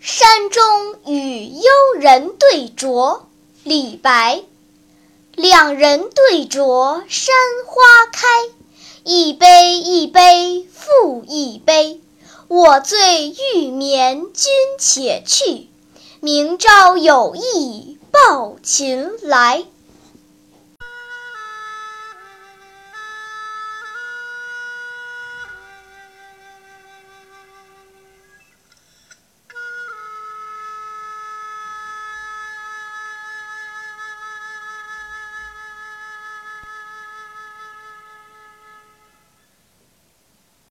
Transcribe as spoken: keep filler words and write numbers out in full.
山中与幽人对酌，李白。两人对酌山花开，一杯一杯复一杯。我醉欲眠君且去，明朝有意抱琴来。